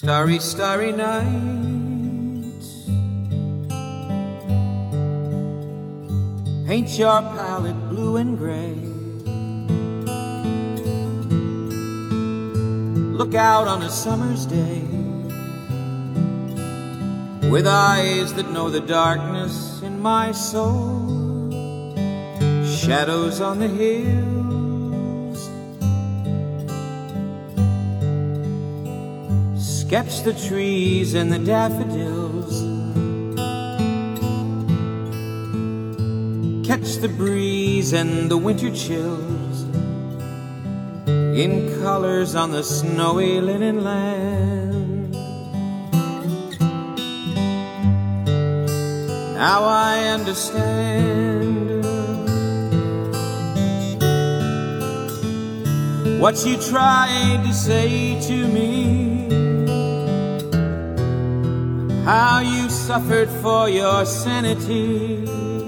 Starry, starry night, paint your palette blue and gray. Look out on a summer's day with eyes that know the darkness in my soul. Shadows on the hills, sketch the trees and the daffodils, catch the breeze and the winter chills in colors on the snowy linen land. Now I understand what you tried to say to me, how you suffered for your sanity,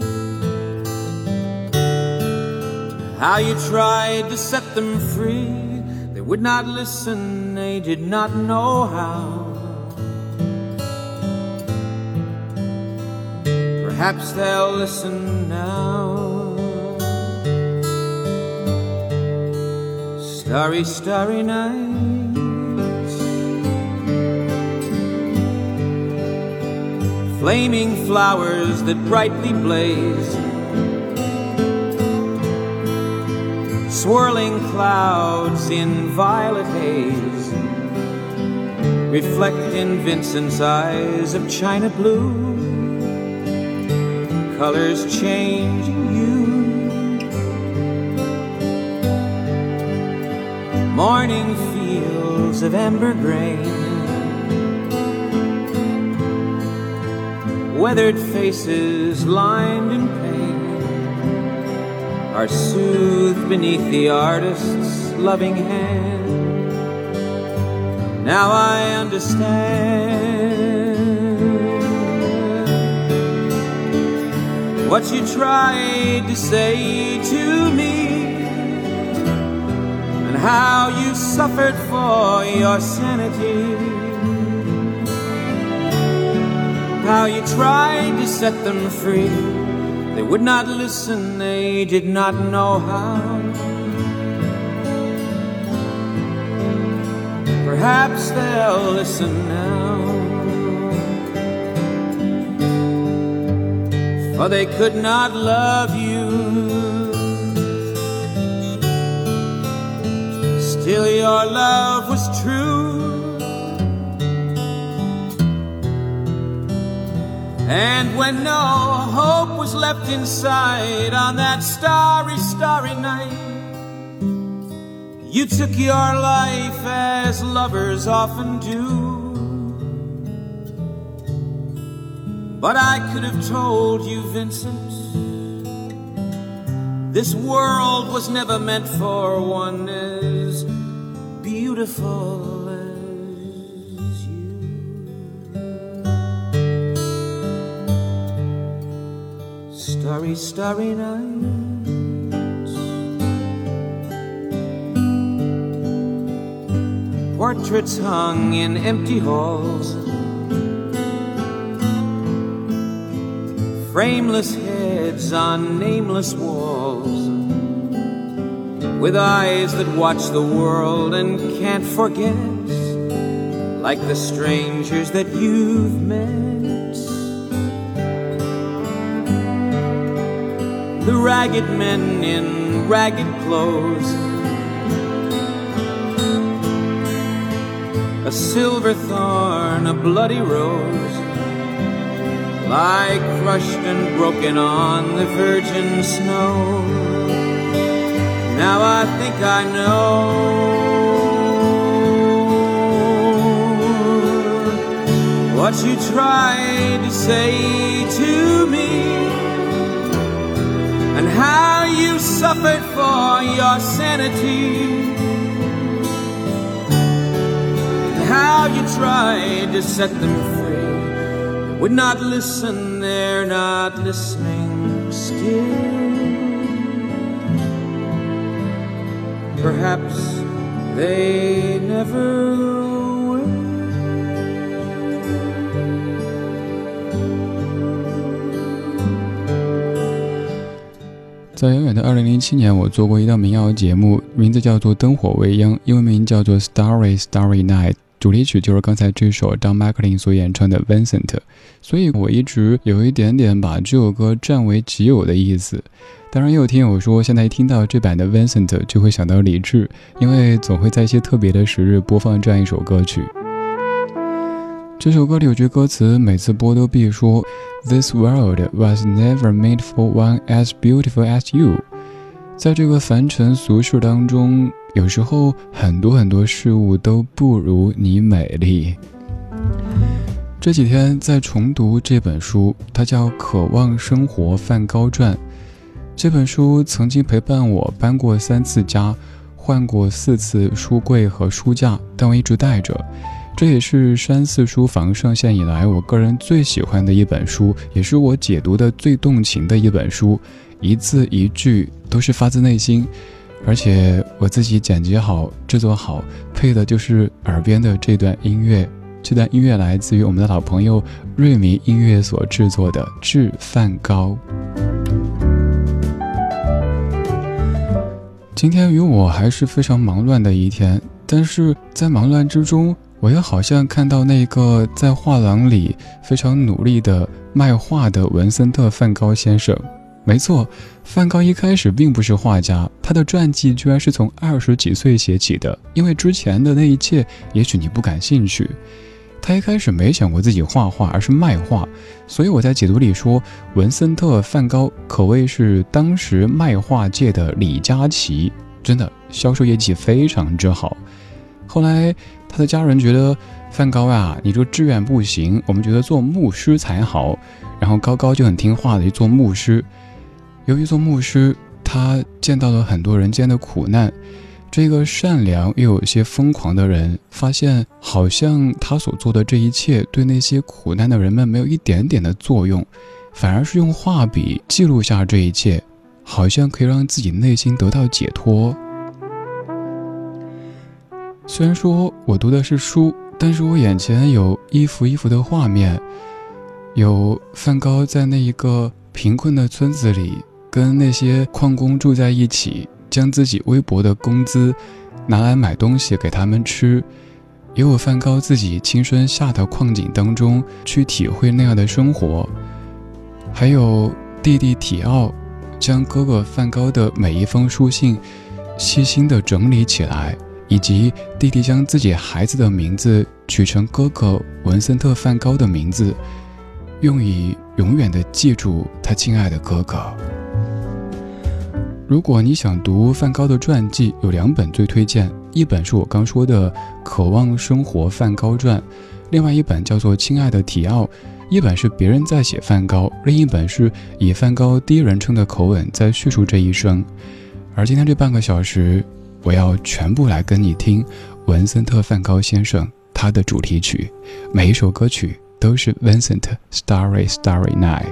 how you tried to set them free. They would not listen, they did not know how. Perhaps they'll listen now. Starry, starry nights, flaming flowers that brightly blaze, swirling clouds in violet haze, reflect in Vincent's eyes of china blue, colors changing you. Morning fields of amber grain, weathered faces lined in pain, are soothed beneath the artist's loving hand. Now I understand what you tried to say to me, and how you suffered for your sanity, how you tried to set them free. They would not listen, they did not know how. Perhaps they'll listen now, for they could not love you. Still your love was true, and when no hope was left inside on that starry, starry night, you took your life as lovers often do. But I could have told you, Vincent, this world was never meant for one as beautiful as you. Starry, starry nights, portraits hung in empty halls, frameless heads on nameless walls, with eyes that watch the world and can't forget, like the strangers that you've met. The ragged men in ragged clothes, a silver thorn, a bloody rose, lie crushed and broken on the virgin snow. Now I think I know what you tried to say to me, and how you suffered for your sanity, and how you tried to set them free. They would not listen, they're not listening still. Perhaps they never will. 在遥远的2007年，我做过一档民谣节目，名字叫做《灯火未央》，英文名叫做《Starry Starry Night》，主题曲就是刚才这首 Don McLean 所演唱的 Vincent， 所以我一直有一点点把这首歌占为己有的意思。当然也有听友说，现在一听到这版的 Vincent 就会想到李志，因为总会在一些特别的时日播放这样一首歌曲。这首歌里有句歌词，每次播都必说 This world was never made for one as beautiful as you。 在这个凡尘俗世当中，有时候很多事物都不如你美丽。这几天在重读这本书，它叫《渴望生活梵高传》。这本书曾经陪伴我搬过3次家，换过4次书柜和书架，但我一直带着。这也是山寺书房上线以来我个人最喜欢的一本书，也是我解读的最动情的一本书，一字一句都是发自内心，而且我自己剪辑好制作好，配的就是耳边的这段音乐。这段音乐来自于我们的老朋友瑞迷音乐所制作的《致梵高》。今天与我还是非常忙乱的一天，但是在忙乱之中，我又好像看到那个在画廊里非常努力的卖画的文森特·梵高先生。没错，梵高一开始并不是画家，他的传记居然是从20几岁写起的，因为之前的那一切也许你不感兴趣。他一开始没想过自己画画，而是卖画，所以我在解读里说，文森特·梵高可谓是当时卖画界的李佳琦，真的销售业绩非常之好。后来他的家人觉得，梵高啊，你这个志愿不行，我们觉得做牧师才好，然后高高就很听话的去做牧师。由于做牧师，他见到了很多人间的苦难，这个善良又有些疯狂的人发现，好像他所做的这一切对那些苦难的人们没有一点点的作用，反而是用画笔记录下这一切，好像可以让自己内心得到解脱。虽然说我读的是书，但是我眼前有一幅一幅的画面，有梵高在那一个贫困的村子里跟那些矿工住在一起，将自己微薄的工资拿来买东西给他们吃，也有梵高自己亲身下到矿井当中去体会那样的生活，还有弟弟提奥将哥哥梵高的每一封书信细心地整理起来，以及弟弟将自己孩子的名字取成哥哥文森特·梵高的名字，用以永远地记住他亲爱的哥哥。如果你想读梵高的传记，有2本最推荐，一本是我刚说的《渴望生活梵高传》，另外一本叫做《亲爱的提奥》，一本是别人在写梵高，另一本是以梵高第一人称的口吻在叙述这一生。而今天这半个小时，我要全部来跟你听文森特·梵高先生他的主题曲，每一首歌曲都是 Vincent Starry Starry Night。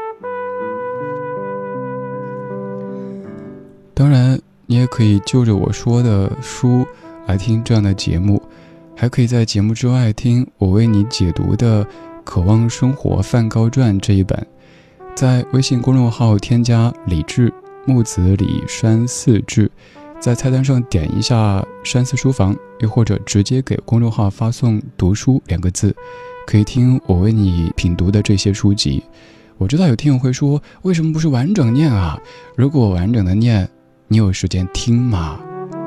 当然你也可以就着我说的书来听这样的节目，还可以在节目之外听我为你解读的《渴望生活梵高传》这一本。在微信公众号添加李志，木子李山寺志，在菜单上点一下山寺书房，又或者直接给公众号发送读书2个字，可以听我为你品读的这些书籍。我知道有听友会说，为什么不是完整念啊？如果完整的念，你有时间听吗？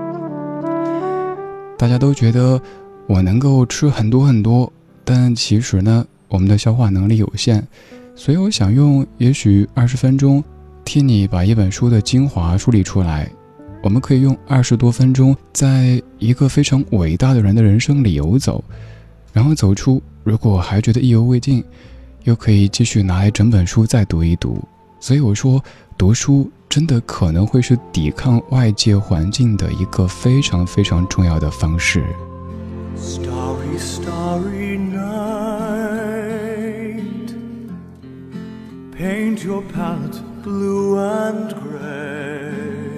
大家都觉得我能够吃很多很多，但其实呢，我们的消化能力有限，所以我想用也许20分钟替你把一本书的精华梳理出来。我们可以用20多分钟在一个非常伟大的人的人生里游走，然后走出，如果还觉得意犹未尽，又可以继续拿来整本书再读一读。所以我说，读书真的可能会是抵抗外界环境的一个非常非常重要的方式。 Starry, starry night, paint your palette blue and gray,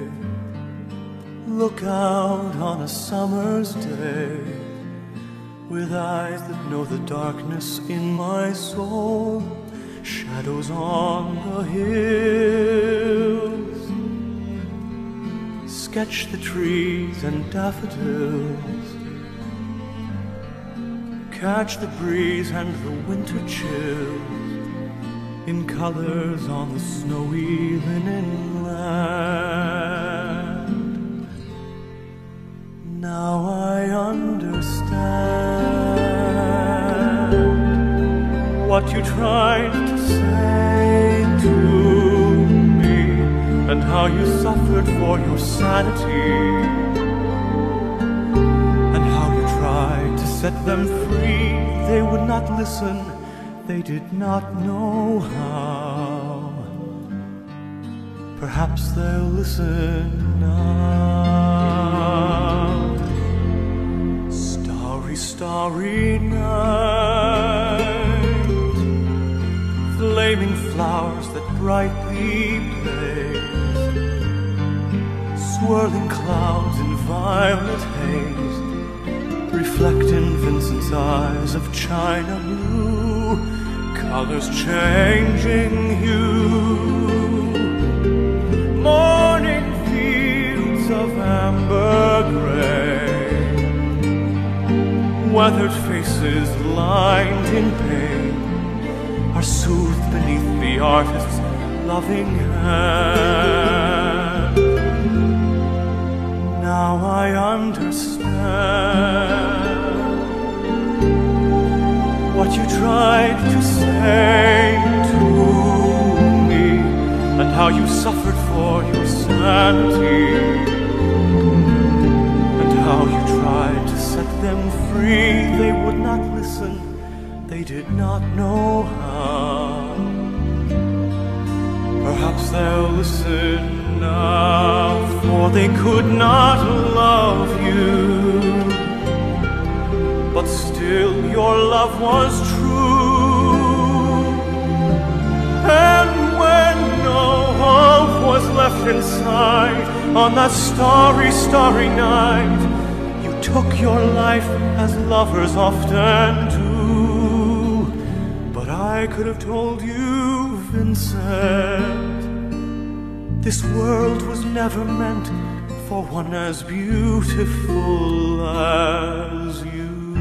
look out on a summer's day, with eyes that know the darkness in my soul, shadows on the hills, sketch the trees and daffodils, catch the breeze and the winter chills in colors on the snowy linen land. Now I understand what you tried to say to me, and how you suffered for your sanity, and how you tried to set them free. They would not listen, they did not know how. Perhaps they'll listen now. Starry, starry night, flaming flowers that brightly blaze, swirling clouds in violet haze, reflect in Vincent's eyes of china blue, colors changing hue. Morning fields of amber gray, weathered faces lined in pain, are soothed beneath the artist's loving hand. Now I understand what you tried to say to me, and how you suffered for your sanity, and how you tried to set them free. They would not listen, they did not know how. Perhaps they'll listen now, for they could not love you, but still your love was true. And when no hope was left inside, on that starry, starry night, you took your life as lovers often do. But I could have told you, Vincent, this world was never meant for one as beautiful as you.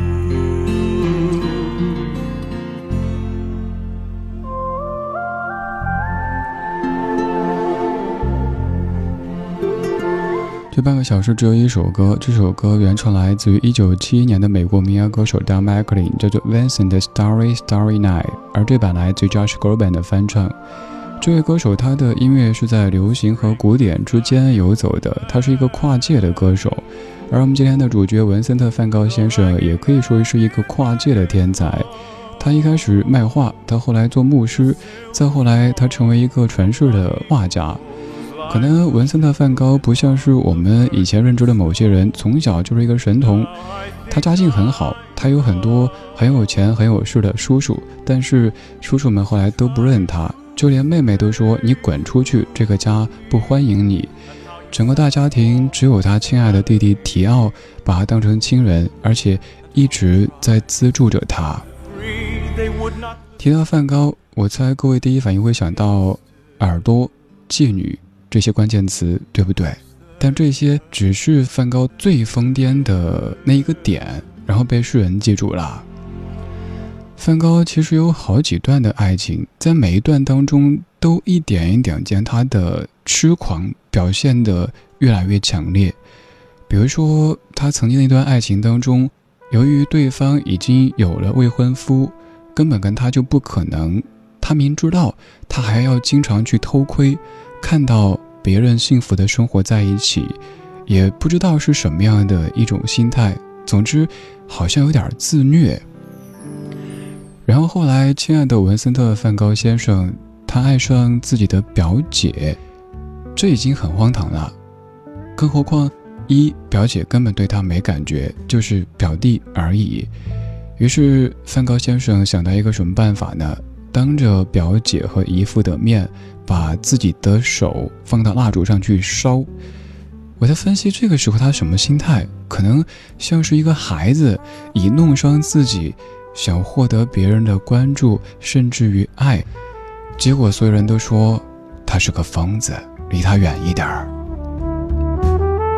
这半个小时只有一首歌，这首歌原唱来自于1971年的美国民谣歌手 Don McLean， 叫做 Vincent 的 Starry Starry Night， 而这版来自于 Josh Groban 的翻唱。这位歌手他的音乐是在流行和古典之间游走的，他是一个跨界的歌手。而我们今天的主角文森特·梵高先生也可以说是一个跨界的天才。他一开始卖画，到后来做牧师，再后来他成为一个传世的画家。可能文森特·梵高不像是我们以前认知的某些人，从小就是一个神童。他家境很好，他有很多很有钱很有势的叔叔，但是叔叔们后来都不认他，就连妹妹都说你滚出去，这个家不欢迎你。整个大家庭只有他亲爱的弟弟提奥把他当成亲人，而且一直在资助着他。提到梵高，我猜各位第一反应会想到耳朵、妓女这些关键词，对不对？但这些只是梵高最疯癫的那一个点，然后被世人记住了。梵高其实有好几段的爱情，在每一段当中都一点一点将他的痴狂表现得越来越强烈。比如说他曾经的一段爱情当中，由于对方已经有了未婚夫，根本跟他就不可能，他明知道他还要经常去偷窥，看到别人幸福的生活在一起，也不知道是什么样的一种心态，总之好像有点自虐。然后后来亲爱的文森特·梵高先生，他爱上自己的表姐，这已经很荒唐了。更何况表姐根本对他没感觉，就是表弟而已。于是梵高先生想到一个什么办法呢？当着表姐和姨父的面，把自己的手放到蜡烛上去烧。我在分析这个时候他什么心态，可能像是一个孩子以弄伤自己，想获得别人的关注甚至于爱，结果所有人都说他是个疯子，离他远一点儿。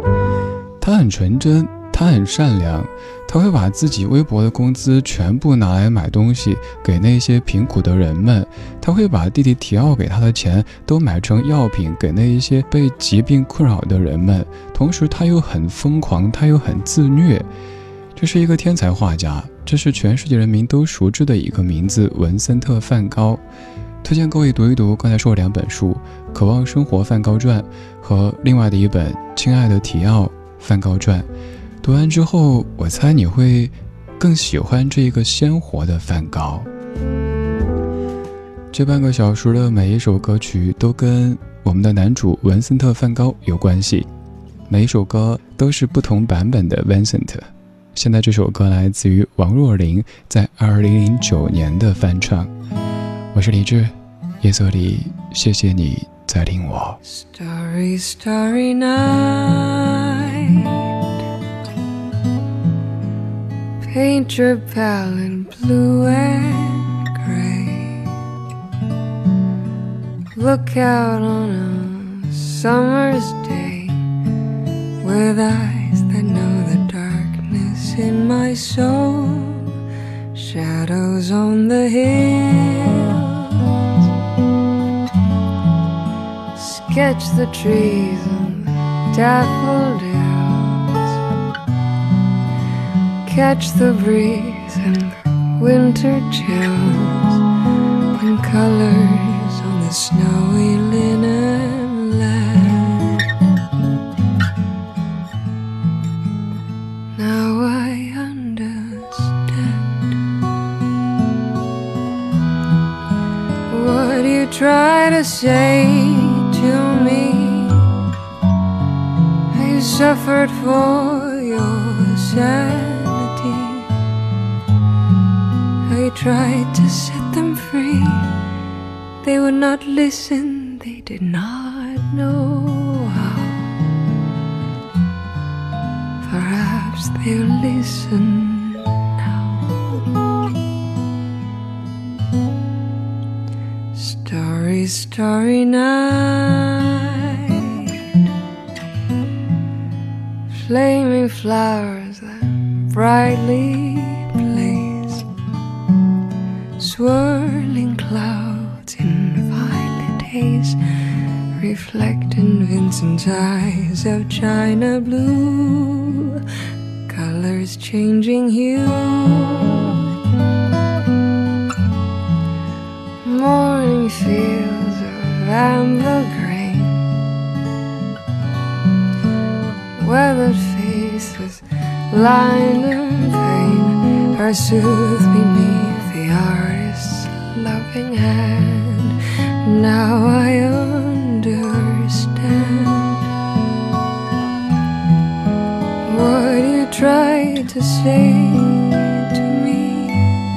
他很纯真，他很善良，他会把自己微薄的工资全部拿来买东西给那些贫苦的人们，他会把弟弟提奥给他的钱都买成药品给那一些被疾病困扰的人们，同时他又很疯狂，他又很自虐。这是一个天才画家，这是全世界人民都熟知的一个名字，文森特·梵高。推荐各位读一读刚才说的2本书，《渴望生活梵高传》和另外的一本《亲爱的提奥梵高传》。读完之后，我猜你会更喜欢这个鲜活的梵高。这半个小时的每一首歌曲都跟我们的男主文森特·梵高有关系，每一首歌都是不同版本的 Vincent。现在这首歌来自于王若琳在2009年的翻唱。我是李志，夜色里谢谢你在听我。 Starry, starry night, paint your palette blue and gray, look out on a summer's day with eyes that know the darkness in my soul, shadows on the hills, sketch the trees and daffodils, catch the breeze and the winter chills, and colors on the snowy linen land. Now I understand what you try to say to me. I suffered for your sanity. I tried to set them free. They would not listen, they did not know how. Perhaps they'll listen now. Starry, starry night, flaming flowers that brightly blaze, swirling clouds in violet haze, reflect in Vincent's eyes of china blue, colors changing hue. Morning fields of amber grain, weathered face with line and pain, are soothed beneath the artist's loving hand. Now I understand what you tried to say to me.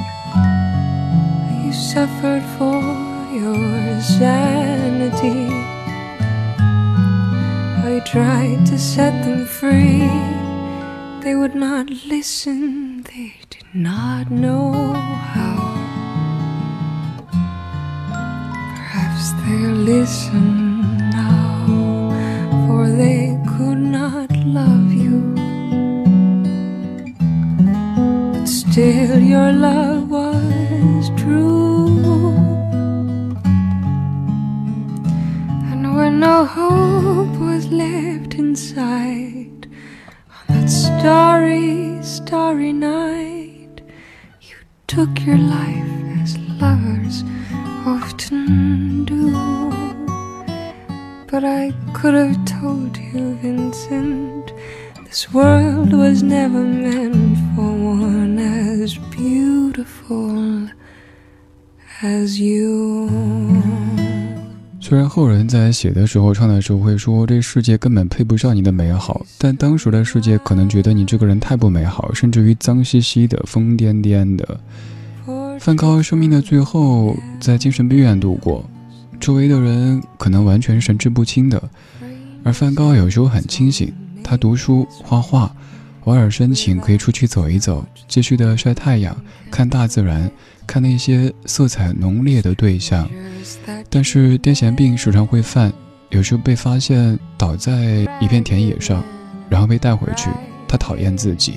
You suffered for your sanity. I tried to set them free. They would not listen, they did not know how. Perhaps they'll listen now, for they could not love you. But still your love was true. And when no hope was left inside, on that starry, starry night, you took your life as lovers often do. But I could have told you, Vincent, this world was never meant for one as beautiful as you. 虽然后人在写的时候唱的时候会说这世界根本配不上你的美好，但当时的世界可能觉得你这个人太不美好，甚至于脏兮兮的疯癫癫的。梵高生命的最后在精神病院度过，周围的人可能完全神志不清的，而梵高有时候很清醒，他读书画画，偶尔申请可以出去走一走，继续的晒太阳，看大自然，看那些色彩浓烈的对象。但是癫痫病时常会犯，有时候被发现倒在一片田野上， 然后被带回去，他讨厌自己。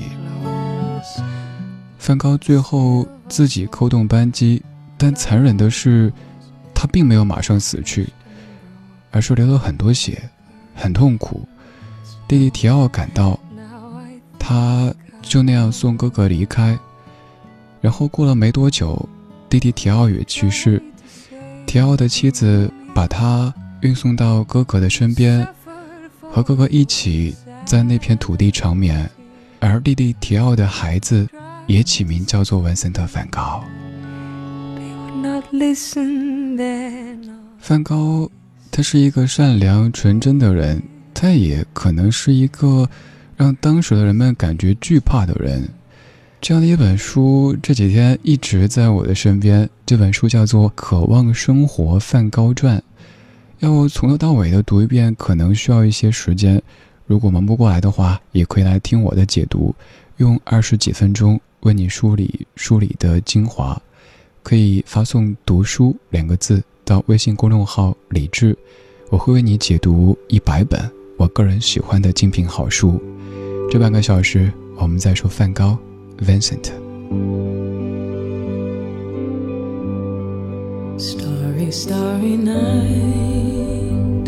梵高最后自己扣动扳机，但残忍的是他并没有马上死去，而是流了很多血，很痛苦。弟弟提奥赶到，他就那样送哥哥离开。然后过了没多久，弟弟提奥也去世。提奥的妻子把他运送到哥哥的身边，和哥哥一起在那片土地长眠。而弟弟提奥的孩子也起名叫做文森特·梵高。梵高他是一个善良纯真的人，他也可能是一个让当时的人们感觉惧怕的人。这样的一本书这几天一直在我的身边，这本书叫做《渴望生活梵高传》，要从头到尾的读一遍可能需要一些时间，如果忙不过来的话，也可以来听我的解读，用20几分钟为你梳理的精华。可以发送读书2个字到微信公众号李志，我会为你解读100本我个人喜欢的精品好书。这半个小时我们在说梵高 Vincent。 Starry, starry night,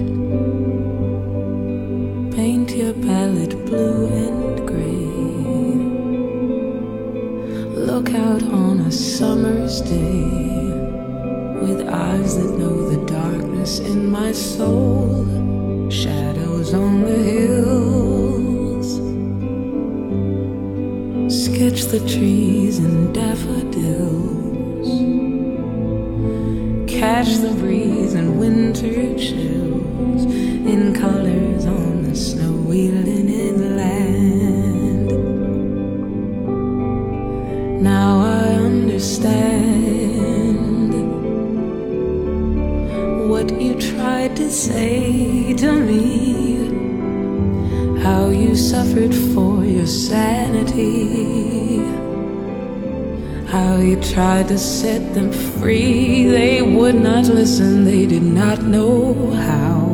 paint your palette blue and gray, look out on a summer's day with eyes that know the darkness in my soul, shadows on the hills, sketch the trees and daffodils, catch the breeze and winter chills in colors on the snowy linen land. Now I understand what you tried to say to me, how you suffered for your sanity, how you tried to set them free. They would not listen, they did not know how.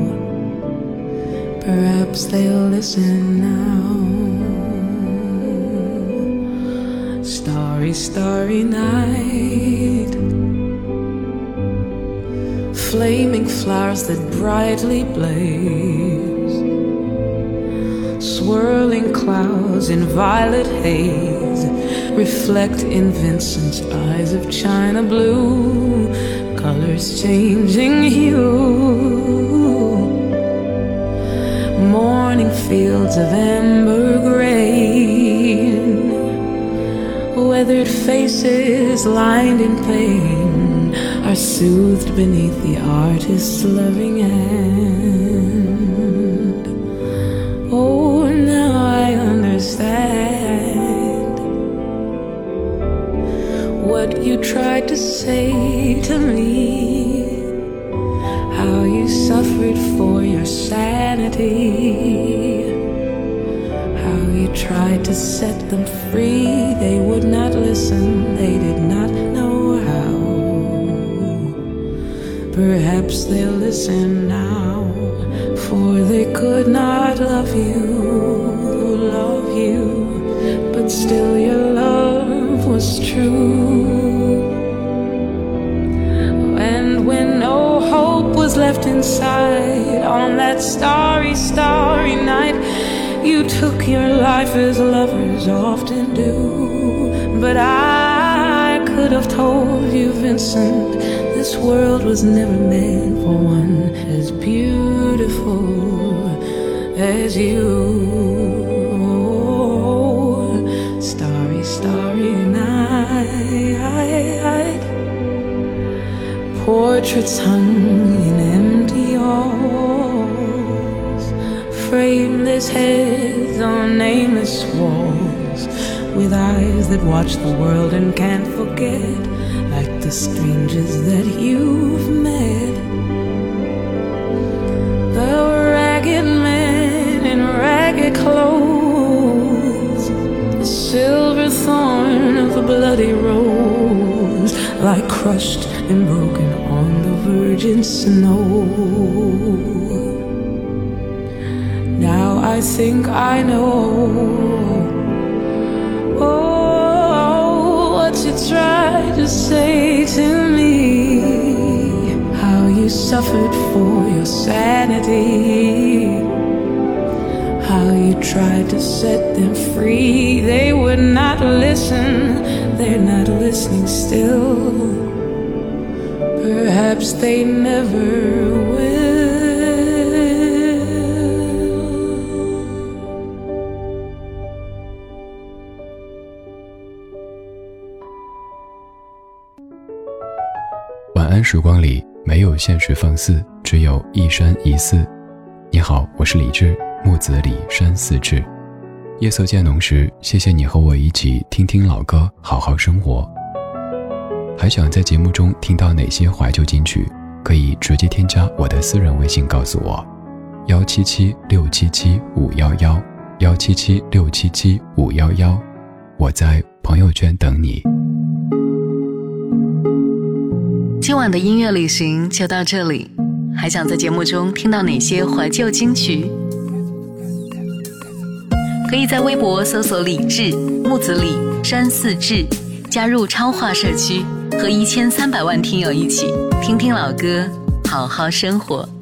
Perhaps they'll listen now. Starry, starry night, flaming flowers that brightly blaze, swirling clouds in violet haze, reflect in Vincent's eyes of china blue, colors changing hue, morning fields of amber grain, weathered faces lined in pain are soothed beneath the artist's loving hand. Oh, now I understand what you tried to say to me, how you suffered for your sanity, how you tried to set them free. They would not listen, they did not know how. Perhaps they'll listen now, for they could not love you, but still your love was true. And when no hope was left inside on that starry, starry night, you took your life as lovers often do. But I could have told you, Vincent, this world was never meant for one as beautiful as you. Starry, starry night, portraits hung in empty halls, frameless heads on nameless walls, with eyes that watch the world and can't forget, like the strangers that you've met. The ragged men in ragged clothes, the silver thorn of the bloody rose, lie crushed and broken on the virgin snow. Now I I think I know. Oh, what you tried to say to me, how you suffered for your sanity, how you tried to set them free. They would not listen, they're not listening still. Perhaps they never will. 晚安时光里没有现实放肆，只有一山一寺。你好，我是李志，木子李，山寺志。夜色渐浓时，谢谢你和我一起听听老歌，好好生活。还想在节目中听到哪些怀旧金曲，可以直接添加我的私人微信告诉我，177677511，177677511，我在朋友圈等你。 今晚的音乐旅行就到这里，还想在节目中听到哪些怀旧金曲？可以在微博搜索李志、木子李、山寺志，加入超话社区，和1300万听友一起听听老歌，好好生活。